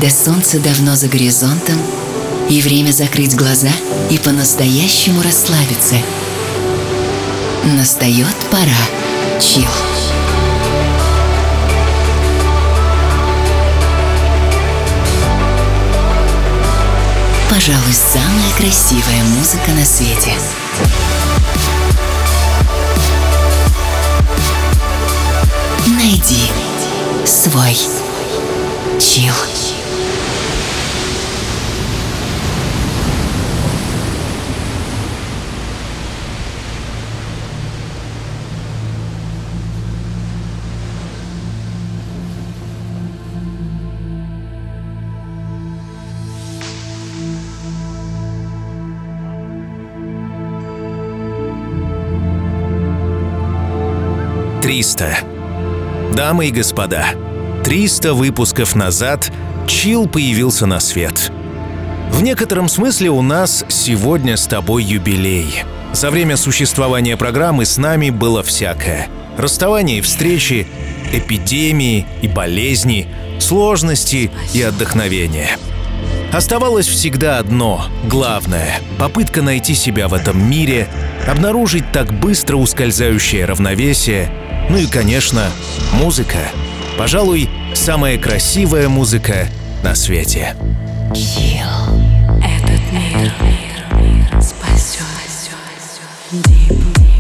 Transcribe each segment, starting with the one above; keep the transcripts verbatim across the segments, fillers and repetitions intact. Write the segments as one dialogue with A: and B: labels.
A: когда солнце давно за горизонтом, и время закрыть глаза и по-настоящему расслабиться. Настает пора чилл. Пожалуй, самая красивая музыка на свете. Найди свой чилл.
B: триста. Дамы и господа, триста выпусков назад чилл появился на свет. В некотором смысле у нас сегодня с тобой юбилей. За время существования программы с нами было всякое. Расставания и встречи, эпидемии и болезни, сложности и отдохновения. Оставалось всегда одно, главное — попытка найти себя в этом мире, обнаружить так быстро ускользающее равновесие. Ну и, конечно, музыка. Пожалуй, самая красивая музыка на свете.
C: Чилл. Этот мир, мир, мир спасет. Deep.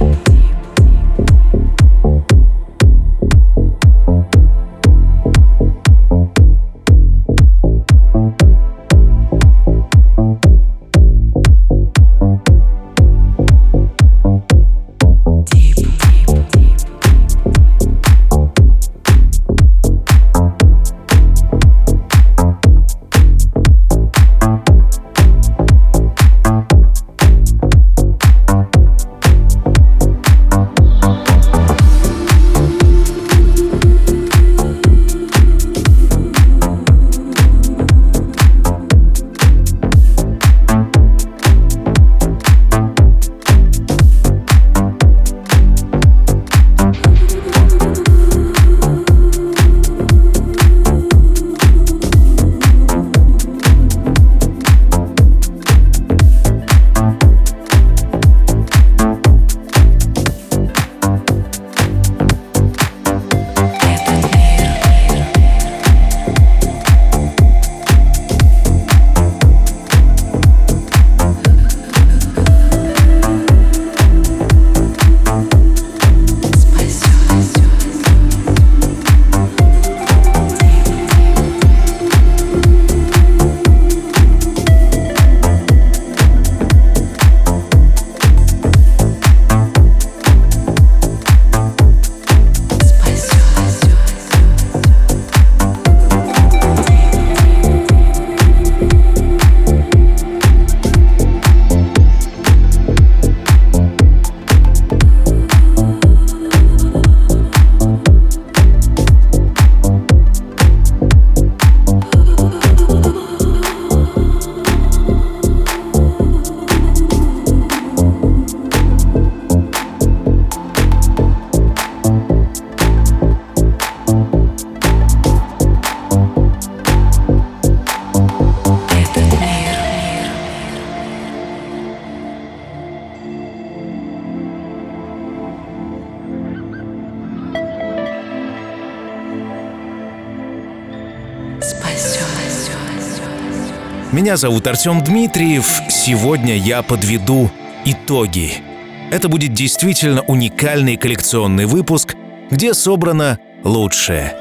B: Меня зовут Артем Дмитриев. Сегодня я подведу итоги. Это будет действительно уникальный коллекционный выпуск, где собрано лучшее.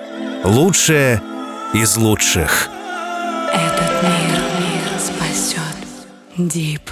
B: Лучшее из лучших.
C: Этот мир, мир спасет. Deep.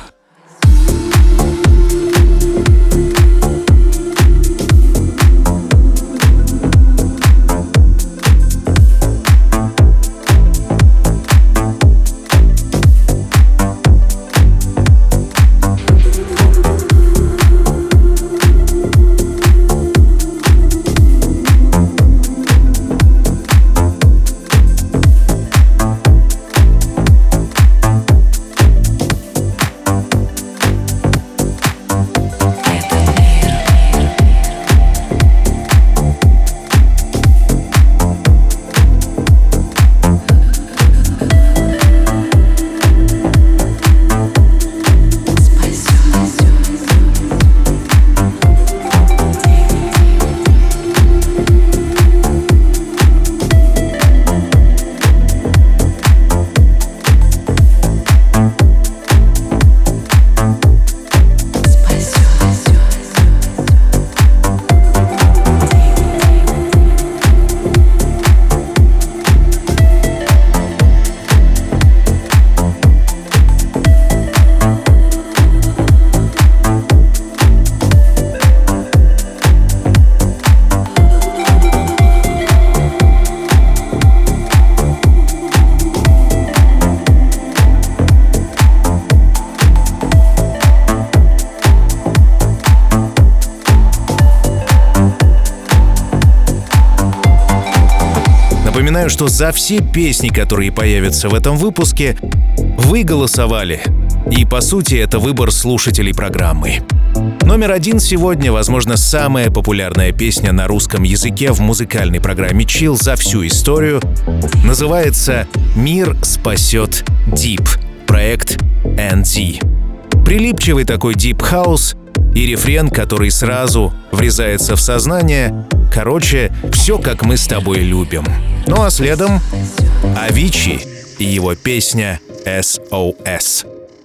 B: Напоминаю, что за все песни, которые появятся в этом выпуске, вы голосовали. И, по сути, это выбор слушателей программы. Номер один сегодня, возможно, самая популярная песня на русском языке в музыкальной программе Chill за всю историю. Называется «Мир спасет Deep», проект эн ди. Прилипчивый такой Deep House и рефрен, который сразу врезается в сознание. Короче, все как мы с тобой любим. Ну а следом Avicii и его песня эс о эс.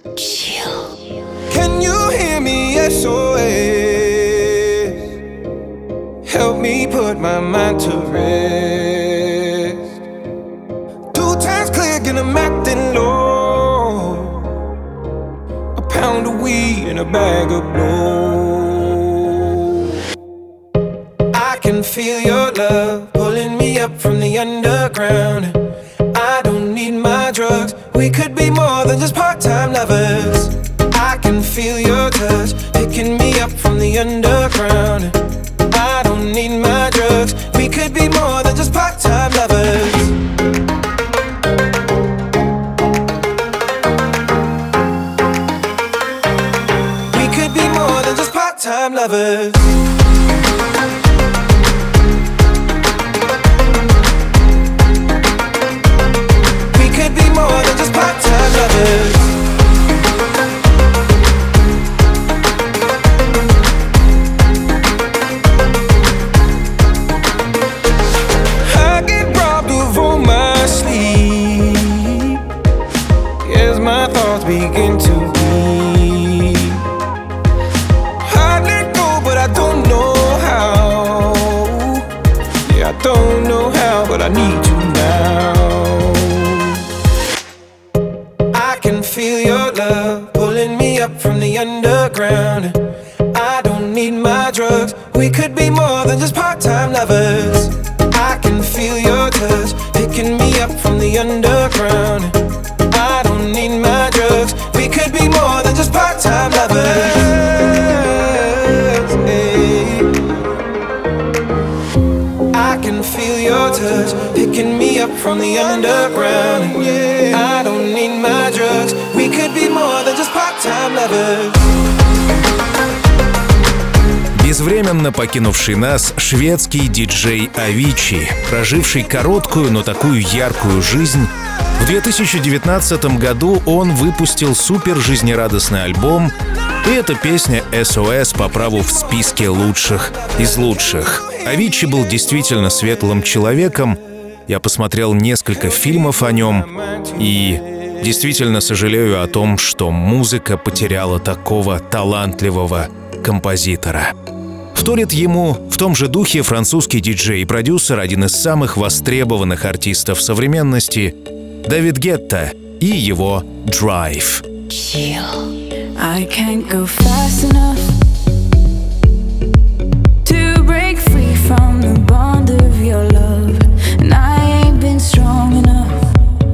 D: Can you hear me? S O S. Help me put my mind to rest. Two times click and I'm acting low. A pound of weed and a bag of blow. I can feel your love pulling me up from the underground. I don't need my drugs. We could be more than just part-time lovers. I can feel your touch picking me up from the underground. I don't need my drugs. We could be more than just part-time lovers. We could be more than just part-time lovers. We could be more than just part-time lovers. Begin to be. I let go, but I don't know how. Yeah, I don't know how, but I need you now. I can feel your love pulling me up from the underground. I don't need my drugs. We could be more than just part-time lovers. I can feel your touch picking me up from the underground. I don't need my drugs. We could be more than just part-time lovers. Hey. I can feel your touch picking me up from the underground. Yeah. I don't need my drugs. We could be more than just part-time lovers.
B: Безвременно покинувший нас шведский диджей Avicii, проживший короткую, но такую яркую жизнь. В две тысячи девятнадцатом году он выпустил супер жизнерадостный альбом, и эта песня эс о эс по праву в списке лучших из лучших. Avicii был действительно светлым человеком. Я посмотрел несколько фильмов о нем и действительно сожалею о том, что музыка потеряла такого талантливого композитора. Вторит ему в том же духе французский диджей и продюсер, один из самых востребованных артистов современности, Дэвид Гетта и его Drive.
C: I can't go fast enough to break free from the bond of your love, and I ain't been strong enough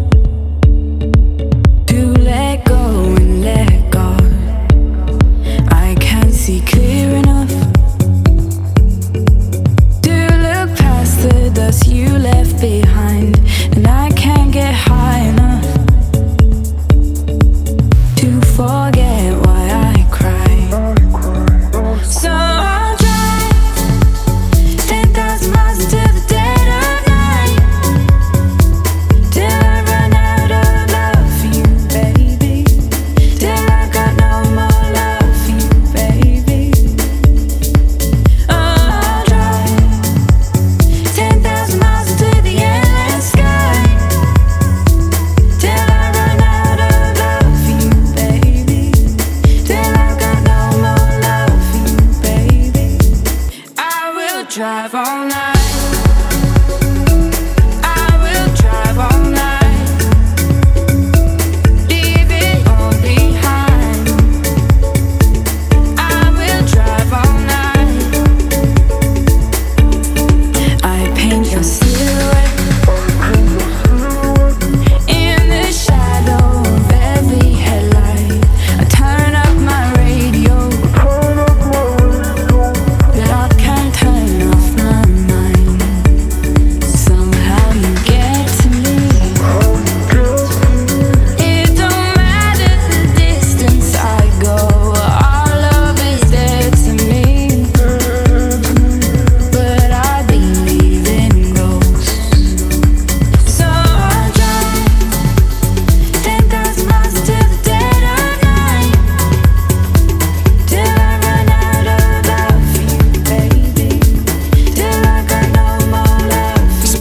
C: to let go and let God. I can't see clear enough to look past the dust you left behind, and I can't get high enough to forget why I cry.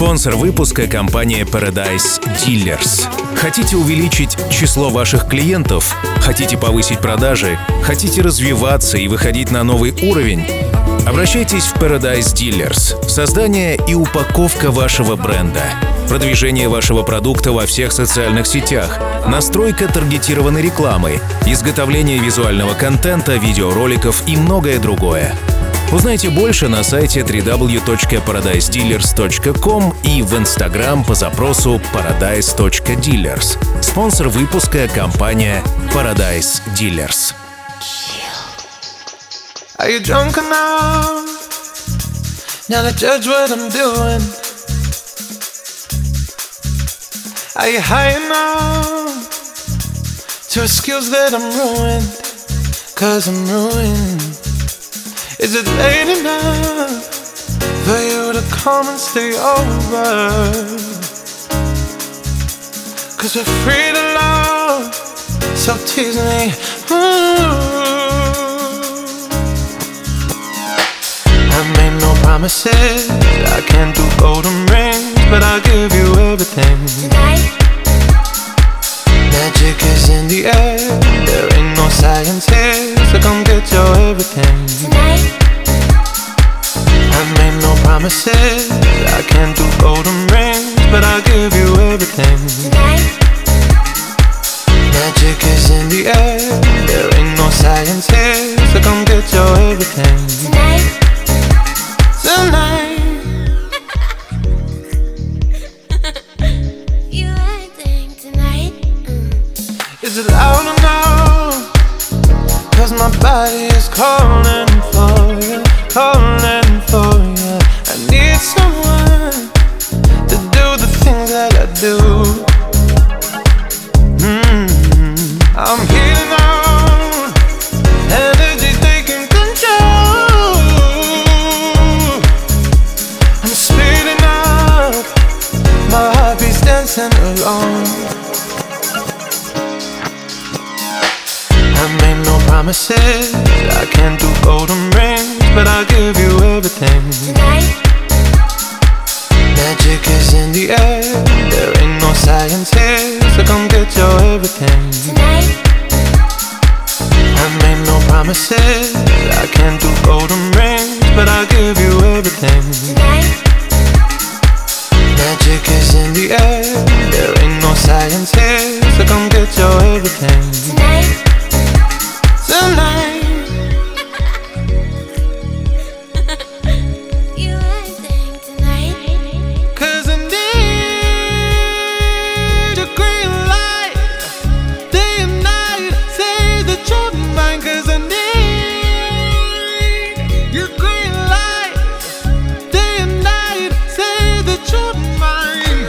B: Спонсор выпуска — компания Paradise Dealers. Хотите увеличить число ваших клиентов? Хотите повысить продажи? Хотите развиваться и выходить на новый уровень? Обращайтесь в Paradise Dealers. Создание и упаковка вашего бренда, продвижение вашего продукта во всех социальных сетях, настройка таргетированной рекламы, изготовление визуального контента, видеороликов и многое другое. Узнайте больше на сайте дабл ю дабл ю дабл ю точка paradise dealers точка ком и в Instagram по запросу paradise точка dealers. Спонсор выпуска — компания Paradise Dealers.
D: Are you drunk enough now to judge what I'm doing? Are you high enough to excuse that I'm ruined? Cause I'm ruined. Is it late enough for you to come and stay over? Cause we're free to love, so tease me. Ooh. I made no promises, I can't do golden rings, but I'll give you everything.
E: Tonight,
D: Magic is in the air, there ain't no science here, so come get your everything.
E: tonight,
D: I made no promises, I can't do golden rings, but I'll give you everything.
E: tonight,
D: Magic is in the air, there ain't no science here, so come get your everything.
E: tonight.
D: Tonight,
E: You acting tonight. Mm.
D: is it loud enough? Cause my body is calling for you, calling for you. I need someone to do the things that I do. Mm-hmm. I'm healing out, energy taking control. I'm speeding up, my heartbeat's dancing along. I made no promises, I can't do golden rings, but I'll give you everything.
E: Tonight,
D: Magic is in the air, there ain't no science here, so come get your everything.
E: tonight,
D: I made no promises, I can't do golden rings, but I'll give you everything.
E: tonight,
D: Magic is in the air, there ain't no science here, so come get your everything.
E: tonight.
D: Tonight,
E: You acting tonight.
D: cause I need your green light, day and night, say that you're mine. Cause I need your green light, day and night, say that you're mine.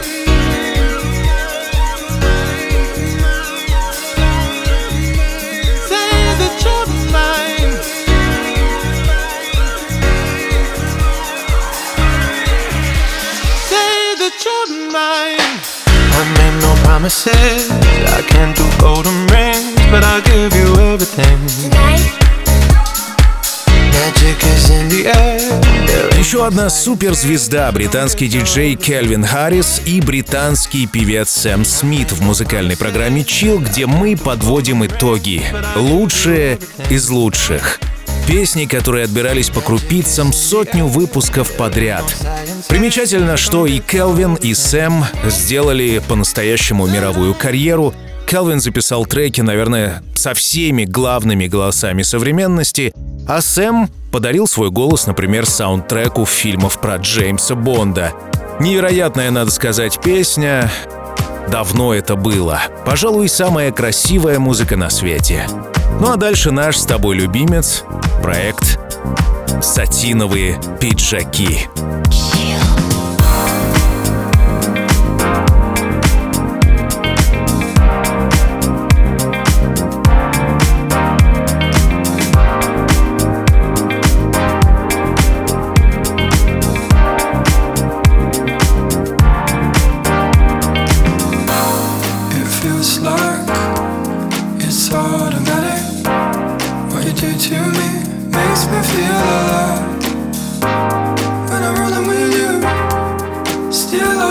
D: Say that you're mine. Say that you're mine. I made no promises, I can't do golden rings, but I'll give you everything.
E: Tonight,
D: Magic is in the air, there ain't
B: Еще одна суперзвезда — британский диджей Кельвин Харрис и британский певец Сэм Смит в музыкальной программе Chill, где мы подводим итоги. Лучшие из лучших. Песни, которые отбирались по крупицам сотню выпусков подряд. Примечательно, что и Кельвин, и Сэм сделали по-настоящему мировую карьеру. Кельвин записал треки, наверное, со всеми главными голосами современности, а Сэм подарил свой голос, например, саундтреку фильмов про Джеймса Бонда. Невероятная, надо сказать, песня. Давно это было. Пожалуй, самая красивая музыка на свете. Ну а дальше наш с тобой любимец, проект «Сатиновые пиджаки».
F: It feels like it's automatic. What you do to me makes me feel alive. When I'm rolling with you, still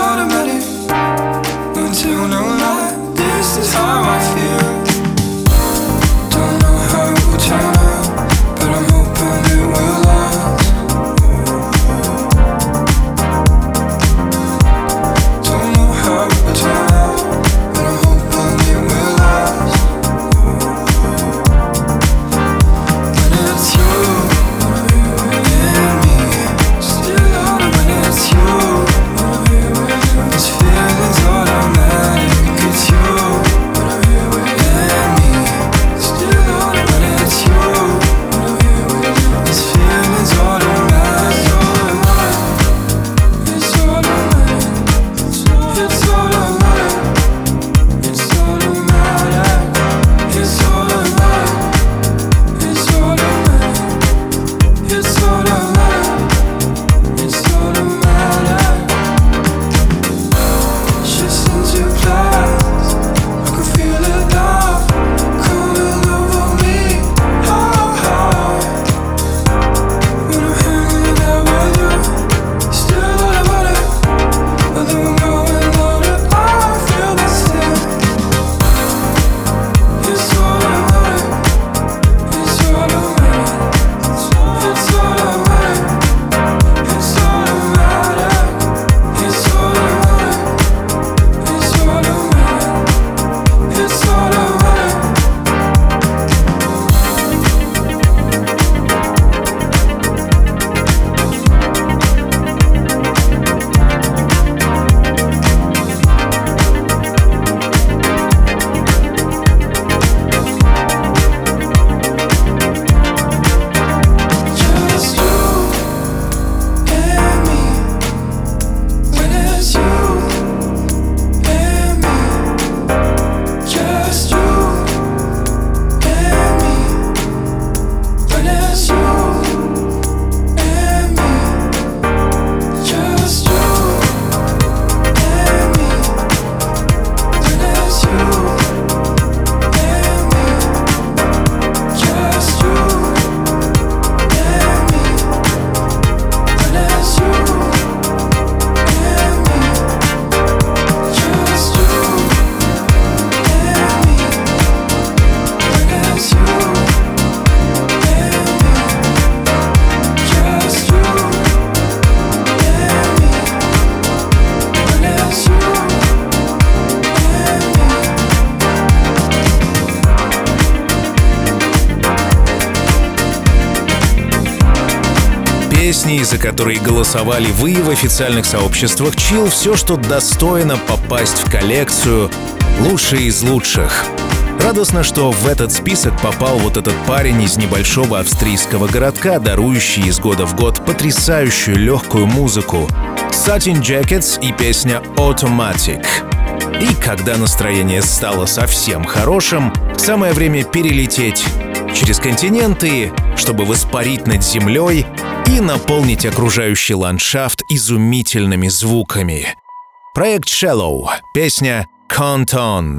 B: Песни, за которые голосовали вы в официальных сообществах Chill, все, что достойно попасть в коллекцию «Лучшие из лучших». Радостно, что в этот список попал вот этот парень из небольшого австрийского городка, дарующий из года в год потрясающую легкую музыку. Satin Jackets и песня Automatic. И когда настроение стало совсем хорошим, самое время перелететь через континенты, чтобы воспарить над землей и наполнить окружающий ландшафт изумительными звуками. Проект Shallow, песня Count On.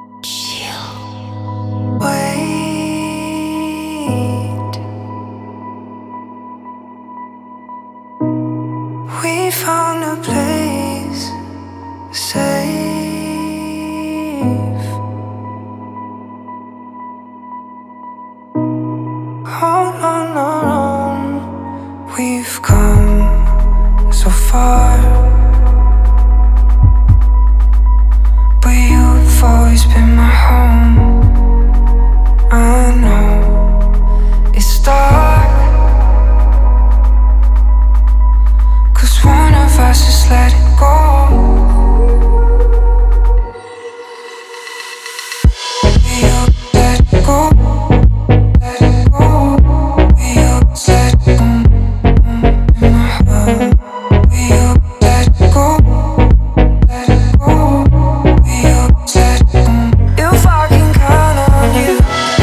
F: Wait, we found a place safe. Hold on, on, we've come so far, but you've always been my home. I know it's dark, 'cause one of us just let it go. You let it go, let it go. You let it go in my heart. You let it go, let it go. You let it go. If I can count on you.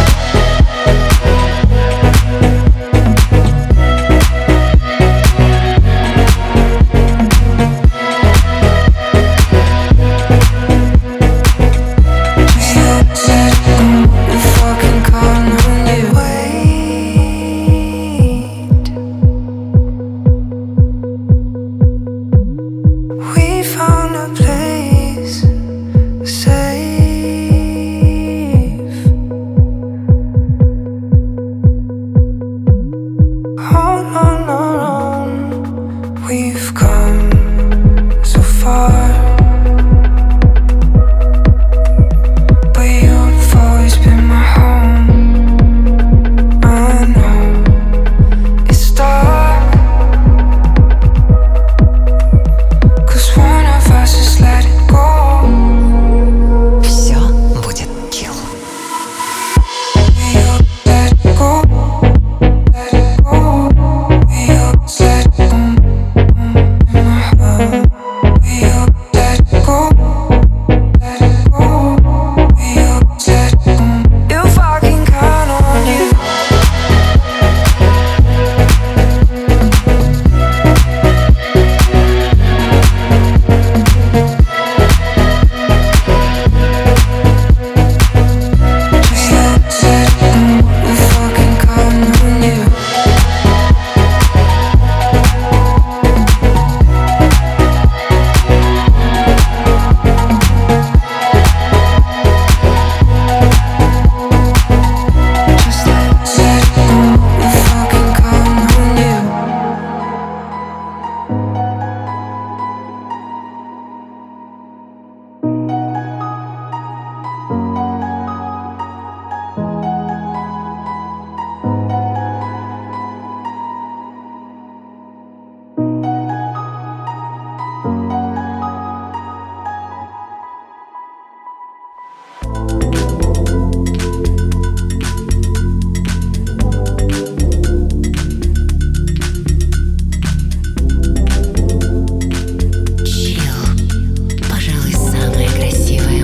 F: We've come so far, but you've always been my home. I know it's dark, 'cause one of us just let it go.
A: Все будет chill.
F: You let it go, let it go. You let it go.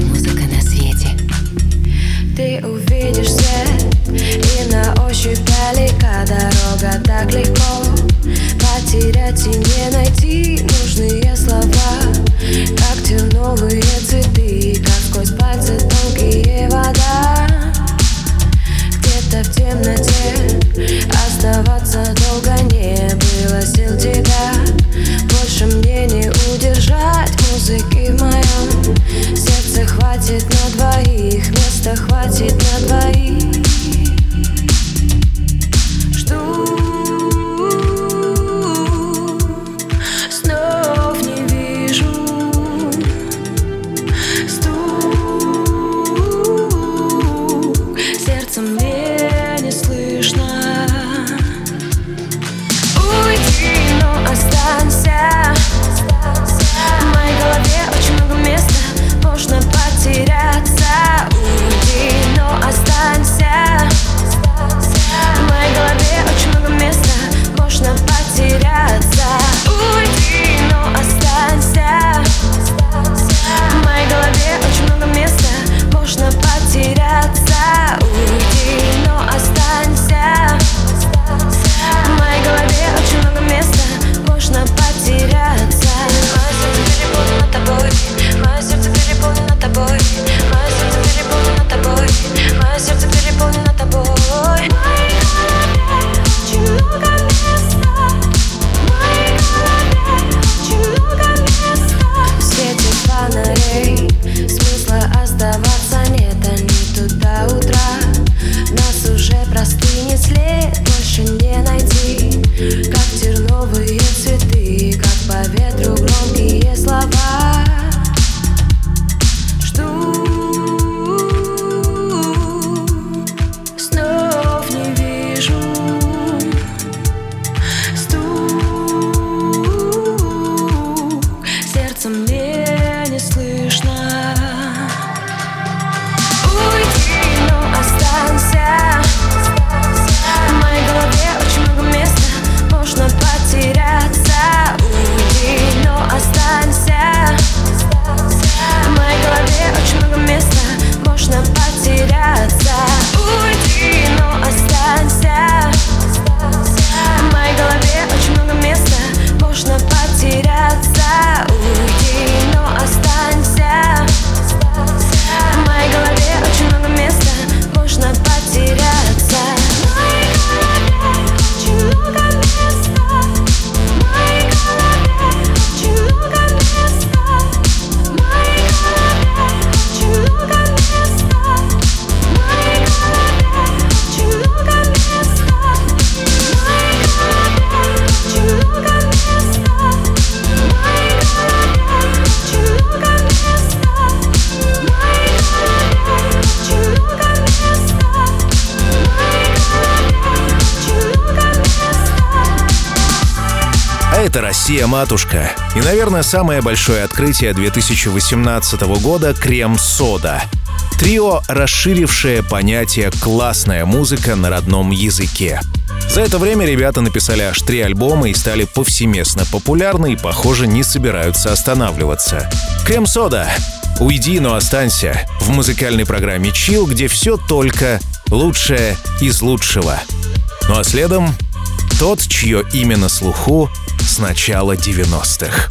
C: Ты увидишь свет и на ощупь
B: это Россия-матушка. И, наверное, самое большое открытие две тысячи восемнадцатого года — «Крем-сода». Трио, расширившее понятие «классная музыка на родном языке». За это время ребята написали аж три альбома и стали повсеместно популярны и, похоже, не собираются останавливаться. «Крем-сода». Уйди, но останься в музыкальной программе Chill, где все только лучшее из лучшего. Ну а следом тот, чье имя на слуху с начала девяностых.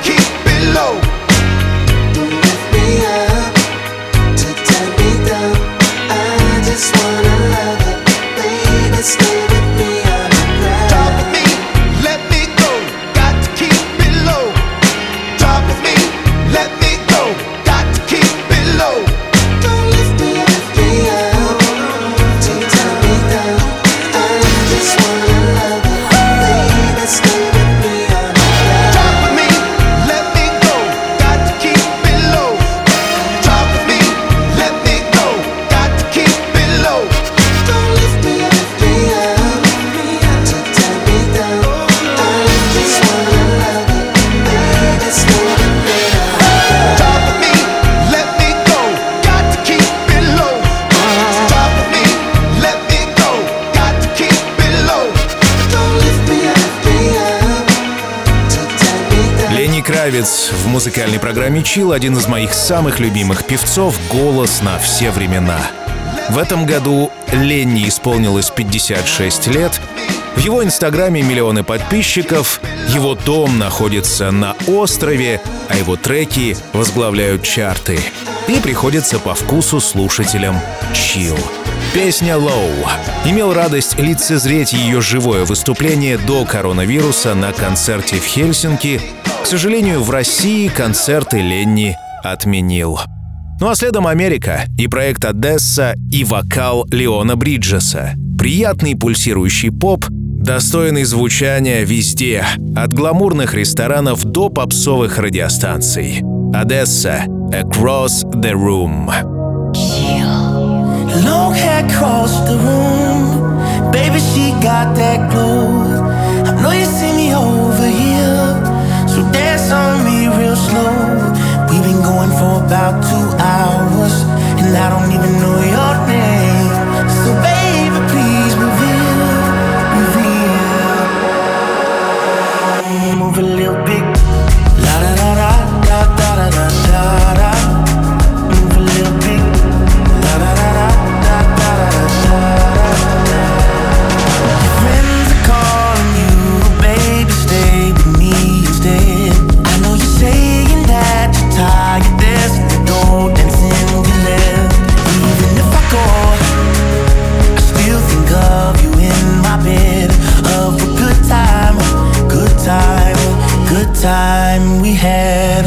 F: Don't lift me up to turn me down.
B: красавец в музыкальной программе Chill, один из моих самых любимых певцов, голос на все времена. В этом году Ленни исполнилось пятьдесят шесть лет. В его инстаграме миллионы подписчиков, его дом находится на острове, а его треки возглавляют чарты. И приходится по вкусу слушателям Chill. Песня «Low». Имел радость лицезреть ее живое выступление до коронавируса на концерте в Хельсинки. К сожалению, в России концерты Ленни отменил. Ну а следом Америка и проект «Одесса» и вокал Леона Бриджеса. Приятный пульсирующий поп, достойный звучания везде, от гламурных ресторанов до попсовых радиостанций. «Одесса» «Across the Room».
G: Long hair across the room, baby, she got that glow. I know you see me over here, so dance on me real slow. We've been going for about two hours, and I don't even know your name. So baby, please reveal, reveal. Move a little bit, la da da da da da da da da. Move a little bit, la da da da. Friends are calling you, baby, stay with me instead. I know you're saying that you're tired, there's no dancing you left. Even if I go, I still think of you in my bed. Of a good time, good time, good time we had.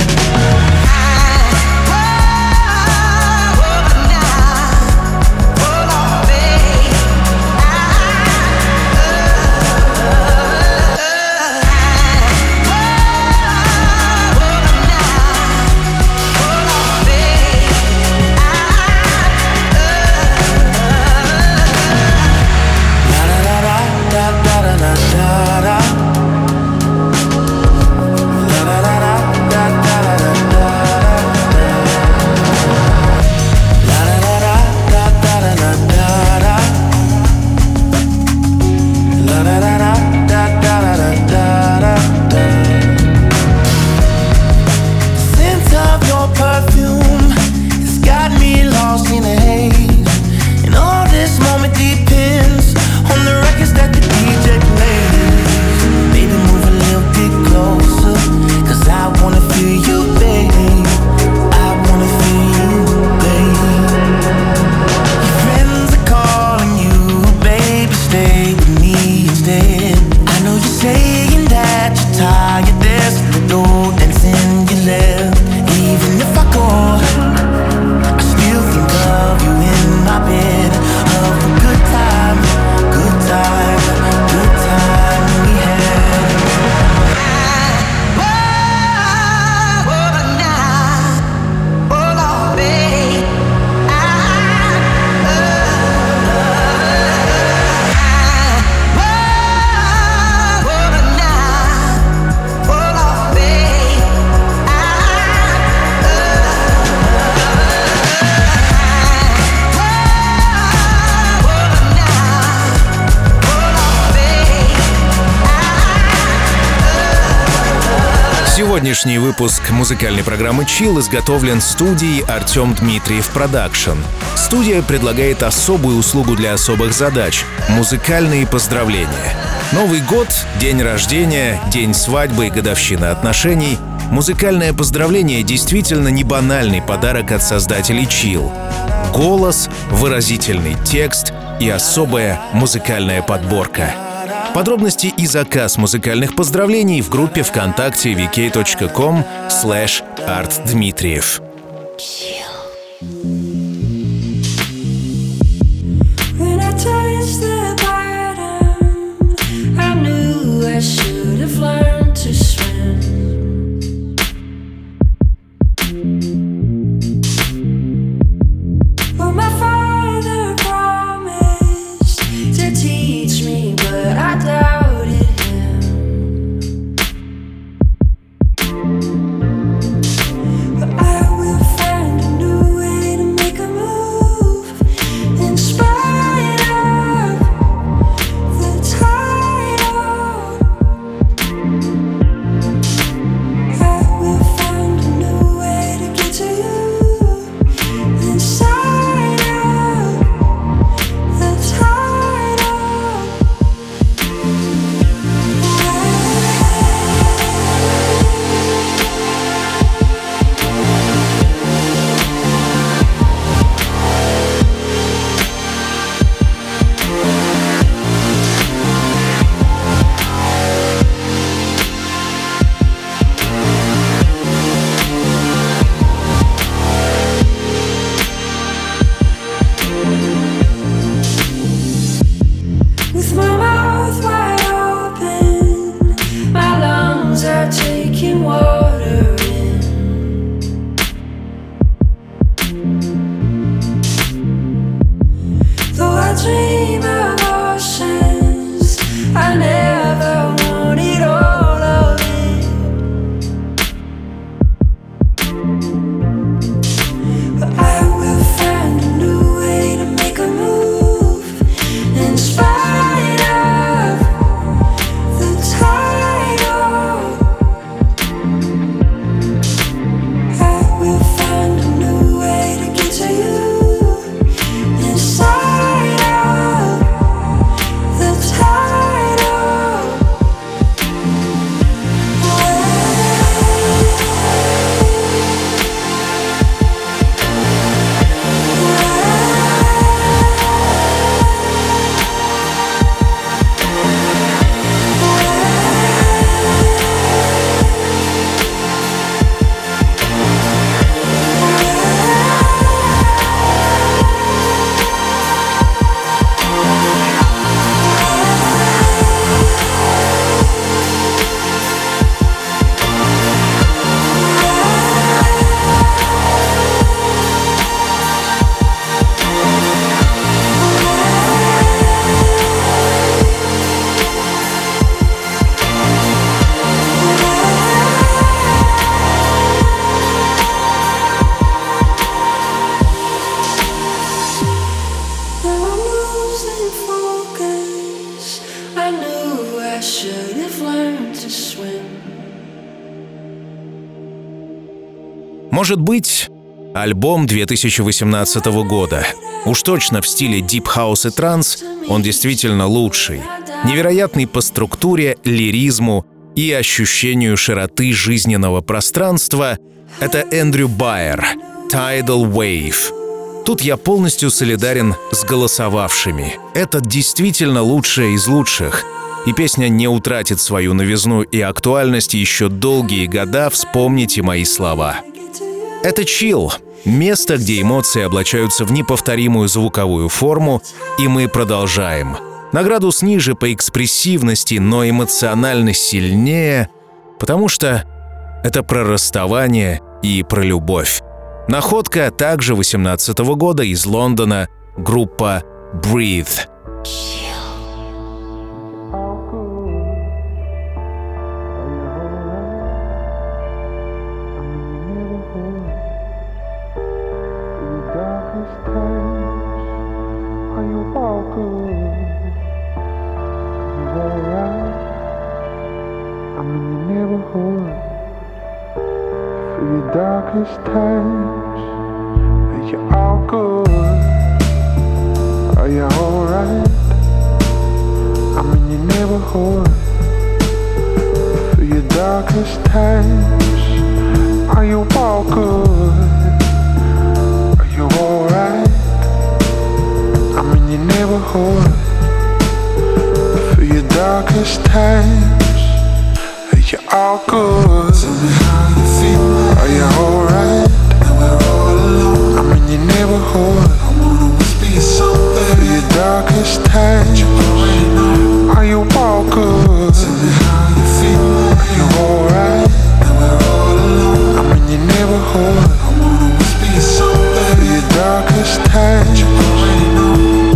B: Сегодняшний выпуск музыкальной программы Chill изготовлен студией Артем Дмитриев Продакшн. Студия предлагает особую услугу для особых задач — музыкальные поздравления. Новый год, день рождения, день свадьбы и годовщина отношений. Музыкальное поздравление действительно не банальный подарок от создателей Chill. Голос, выразительный текст и особая музыкальная подборка. Подробности и заказ музыкальных поздравлений в группе ВКонтакте ви кей точка ком слэш арт дмитриев.
C: I will find a new way to make I never wanted all of it, but I will find a new way to make a move in spite of the title. I will find a new way to get to you inside of the title. Now I'm losing focus. I knew I should have learned to swim.
B: Может быть, альбом две тысячи восемнадцатого года. Уж точно в стиле Deep House и транс он действительно лучший. Невероятный по структуре, лиризму и ощущению широты жизненного пространства — это Эндрю Байер, Tidal Wave. Тут я полностью солидарен с голосовавшими. Это действительно лучшее из лучших. И песня не утратит свою новизну и актуальность еще долгие года, вспомните мои слова. Это чилл, место, где эмоции облачаются в неповторимую звуковую форму, и мы продолжаем. На градус ниже по экспрессивности, но эмоционально сильнее, потому что это про расставание и про любовь. Находка также восемнадцатого года из Лондона, группа Breathe.
H: Darkest times, are you all good? Are you alright? I'm in your neighborhood. For your darkest times, are you all good? Are you alright? I'm in your neighborhood. For your darkest times, are you all good? Tell me how you feel. Are you alright? And we're all alone. I'm in your neighborhood. I wanna whisper you something. For your darkest times, you already know. Are you all good? Tell me how you feel. Are you alright? And we're all alone. I'm in your neighborhood. I wanna whisper you something. For your darkest times, you already know.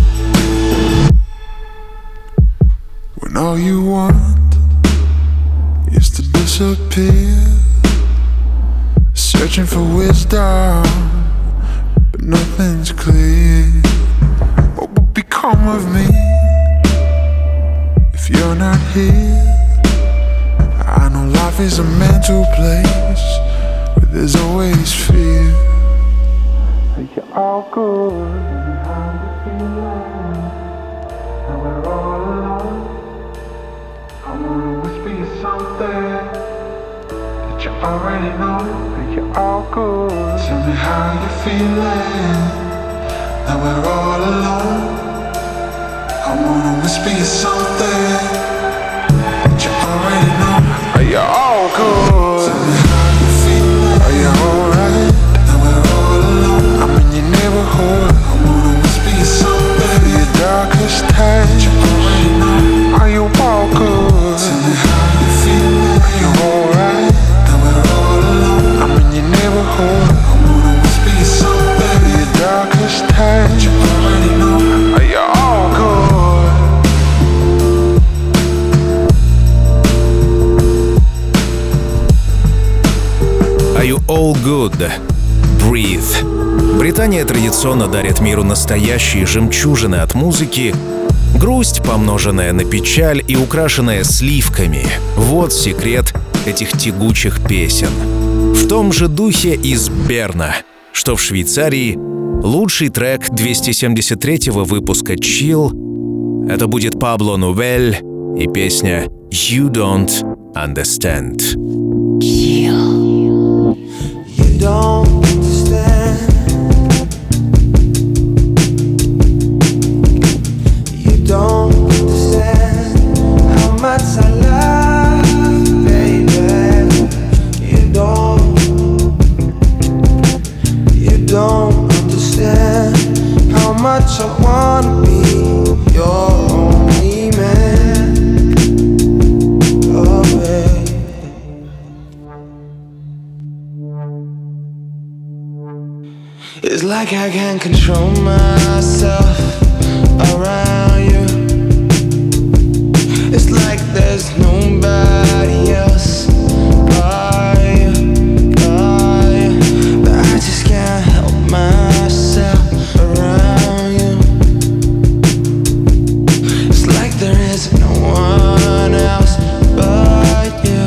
H: When all you want is to disappear, searching for wisdom, but nothing's clear. What will become of me if you're not here? I know life is a mental place where there's always fear. Are you all good? How you feeling? And we're all alone. I wanna whisper you something that you already know. You're all good. Tell me how you're feeling. Now we're all alone. I wanna whisper you something that you already know. Are you all good? Tell me how you feeling. Are you alright? Now we're all alone. I'm in your neighborhood. I wanna whisper you something for your darkest times that you already know. Are you all good? Tell me how you feeling. Are you alright? Now we're all alone. I'm in your neighborhood. I wanna whisper you something for your darkest times that you already know. Are you all good?
B: Good. Breathe. Британия традиционно дарит миру настоящие жемчужины от музыки. Грусть, помноженная на печаль и украшенная сливками. Вот секрет этих тягучих песен. В том же духе из Берна, что в Швейцарии, лучший трек двести семьдесят третьего выпуска Chill. Это будет Пабло Нувель и песня You Don't Understand.
A: Chill.
D: You don't understand. You don't understand how much I love you, baby. You don't. You don't understand how much I wanna be your only man. Oh, baby. It's like I can't control myself around you. It's like there's nobody else but you, but you. But I just can't help myself around you. It's like there is no one else but you.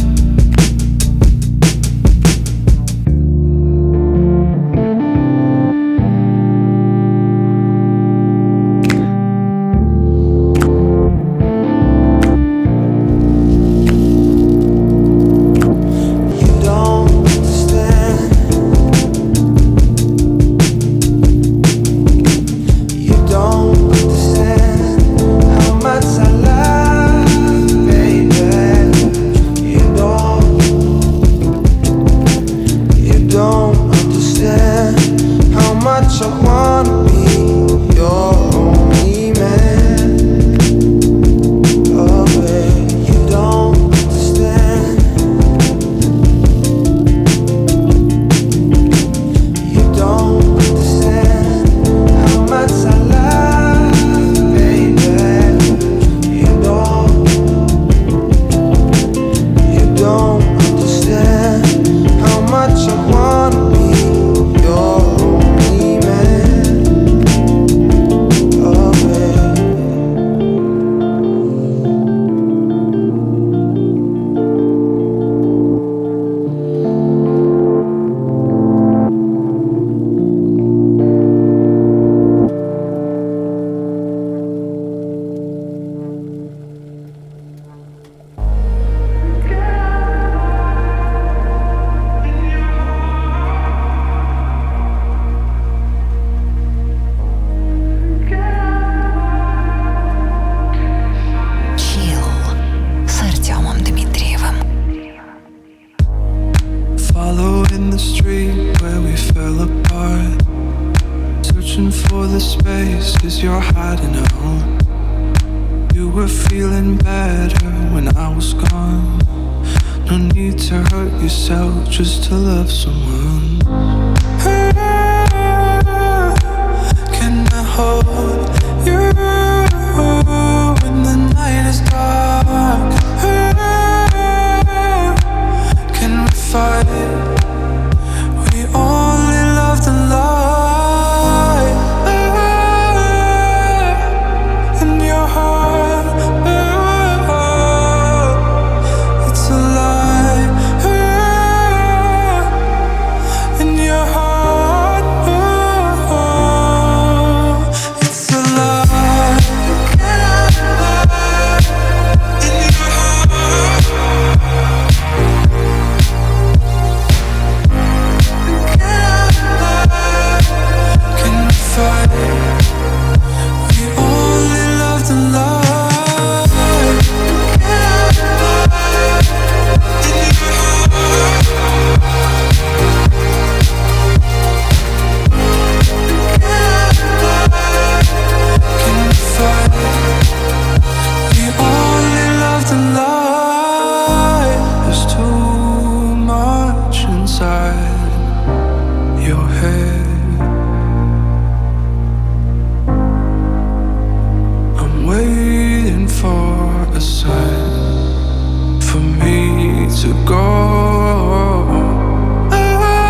F: Just to love someone. Can I hold you when the night is dark? Can we fight? We only love the light in your heart. It's a lie. to go.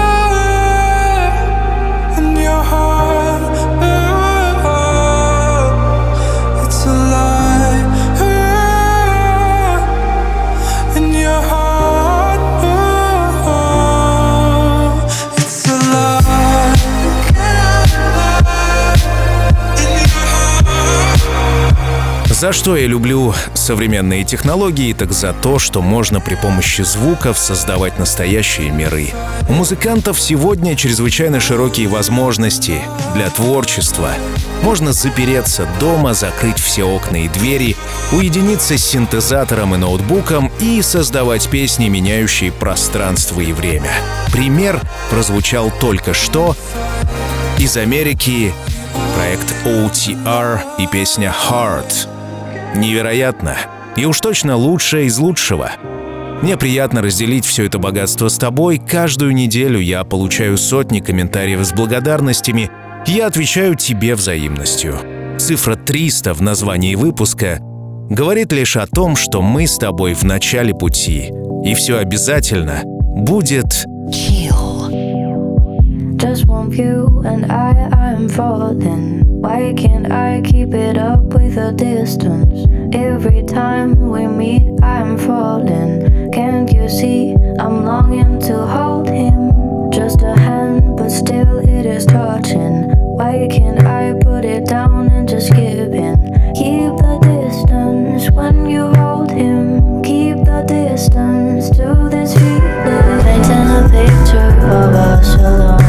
B: За что я люблю современные технологии, так за то, что можно при помощи звуков создавать настоящие миры. У музыкантов сегодня чрезвычайно широкие возможности для творчества. Можно запереться дома, закрыть все окна и двери, уединиться с синтезатором и ноутбуком и создавать песни, меняющие пространство и время. Пример прозвучал только что из Америки. Проект о ти ар и песня «Heart». Невероятно. И уж точно лучшее из лучшего. Мне приятно разделить все это богатство с тобой. Каждую неделю я получаю сотни комментариев с благодарностями. Я отвечаю тебе взаимностью. Цифра триста в названии выпуска говорит лишь о том, что мы с тобой в начале пути. И все обязательно будет
A: Chill.
C: Just one view and I, I'm falling. Why can't I keep it up with a distance? Every time we meet, I'm falling. Can't you see I'm longing to hold him? Just a hand, but still it is touching. Why can't I put it down and just give in? Keep the distance when you hold him. Keep the distance to this feeling. Painting a picture of us alone.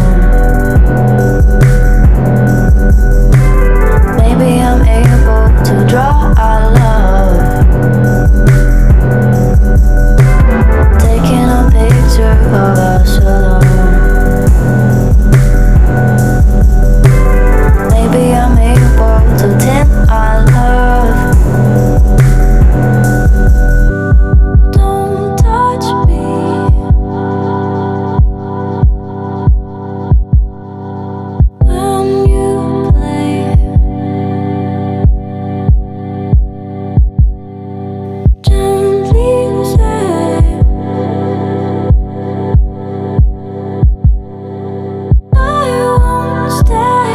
C: Maybe I'm able to draw our love. Taking a picture of us alone. Maybe I'm able to tint our love. Don't touch me. When you play, gently say, I won't stay.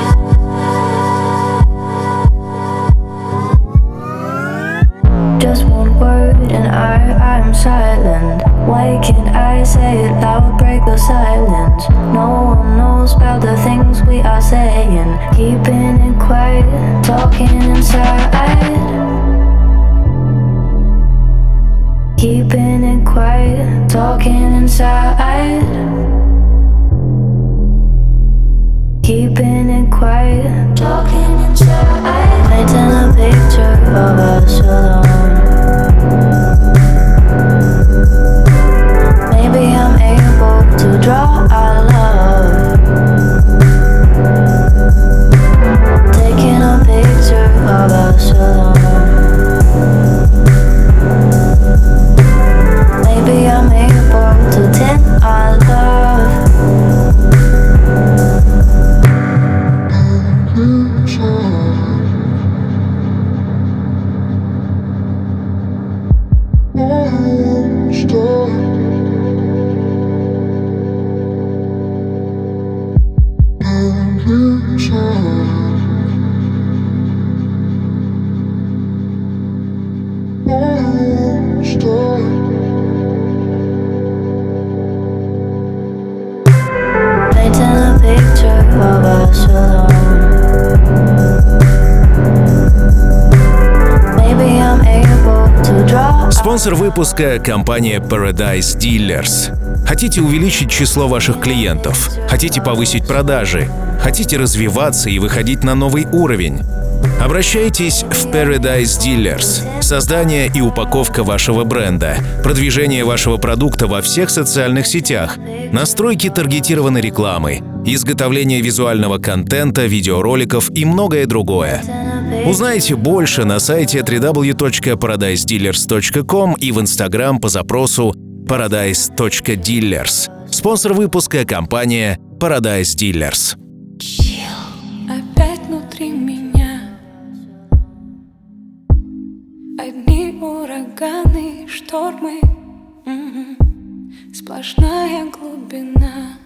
C: Just one word and I, I'm silent. Why can't I say it loud, break the silence? No one knows about the things we are saying. Keeping it quiet, talking inside. Keeping it quiet, talking inside. Keeping it quiet, talking inside. Painting a picture of us alone. Maybe I'm able to draw our love. Taking a picture of us alone. Maybe I'm able to tint our love. Painting a picture of us alone. Maybe I'm able to draw.
B: спонсор выпуска — компания Paradise Dealers. Хотите увеличить число ваших клиентов? Хотите повысить продажи? Хотите развиваться и выходить на новый уровень? Обращайтесь в Paradise Dealers. Создание и упаковка вашего бренда, продвижение вашего продукта во всех социальных сетях, настройки таргетированной рекламы, изготовление визуального контента, видеороликов и многое другое. Узнайте больше на сайте дабл ю дабл ю дабл ю точка парадайз дилерс точка ком и в Instagram по запросу paradise точка dealers. Спонсор выпуска — компания Paradise Dealers.
C: Опять внутри меня одни ураганы, штормы, м-м, сплошная глубина.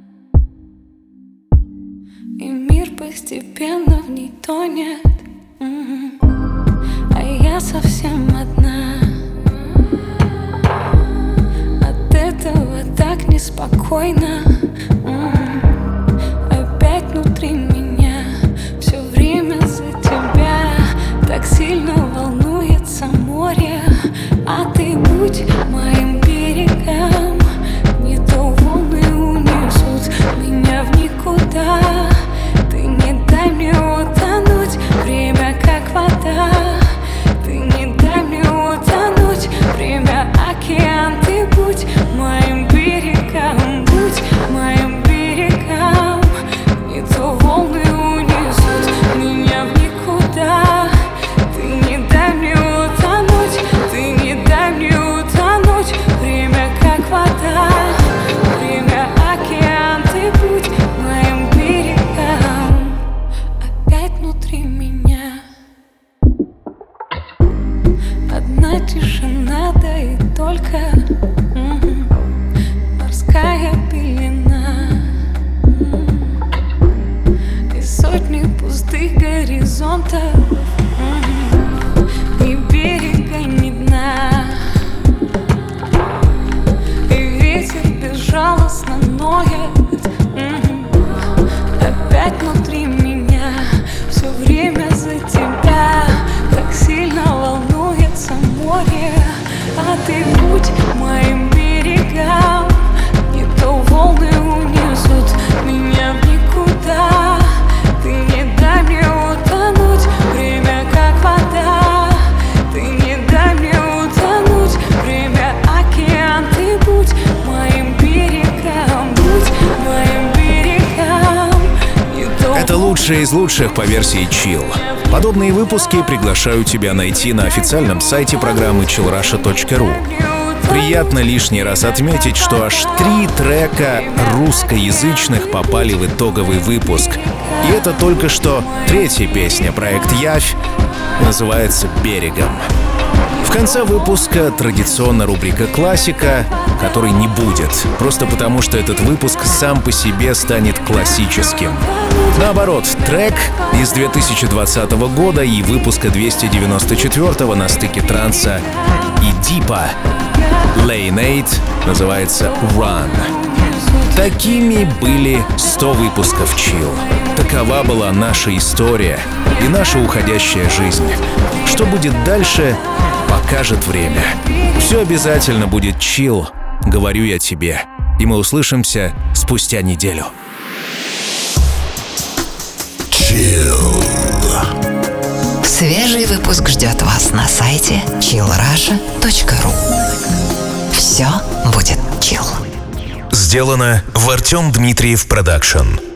C: И мир постепенно в ней тонет, м-м, а я совсем одна. От этого так неспокойно, м-м, опять внутри меня все время за тебя так сильно волнует.
I: ты будь моим берегам. Не то волны унесут меня в никуда. Ты не дай мне утонуть, время как вода. Ты не дай мне утонуть, время океан. Ты будь моим берегам, будь моим берегам. Не то
B: Это лучшее из лучших по версии Chill. Подобные выпуски приглашаю тебя найти на официальном сайте программы чилл раша точка ру. Приятно лишний раз отметить, что аж три трека русскоязычных попали в итоговый выпуск. И это только что третья песня, проект «Явь», называется «Берегом». В конце выпуска традиционно рубрика «Классика», которой не будет, просто потому что этот выпуск сам по себе станет классическим. Наоборот, трек из две тысячи двадцатого года и выпуска двести девяносто четвёртого на стыке транса и дипа Lane eight называется «Run». Такими были сто выпусков Chill. Такова была наша история и наша уходящая жизнь. Что будет дальше, покажет время. Все обязательно будет Chill, говорю я тебе. И мы услышимся спустя неделю.
J: Chill.
A: Свежий выпуск ждет вас на сайте чилл раша точка ру. Все будет chill.
B: Сделано в Артем Дмитриев Продакшн.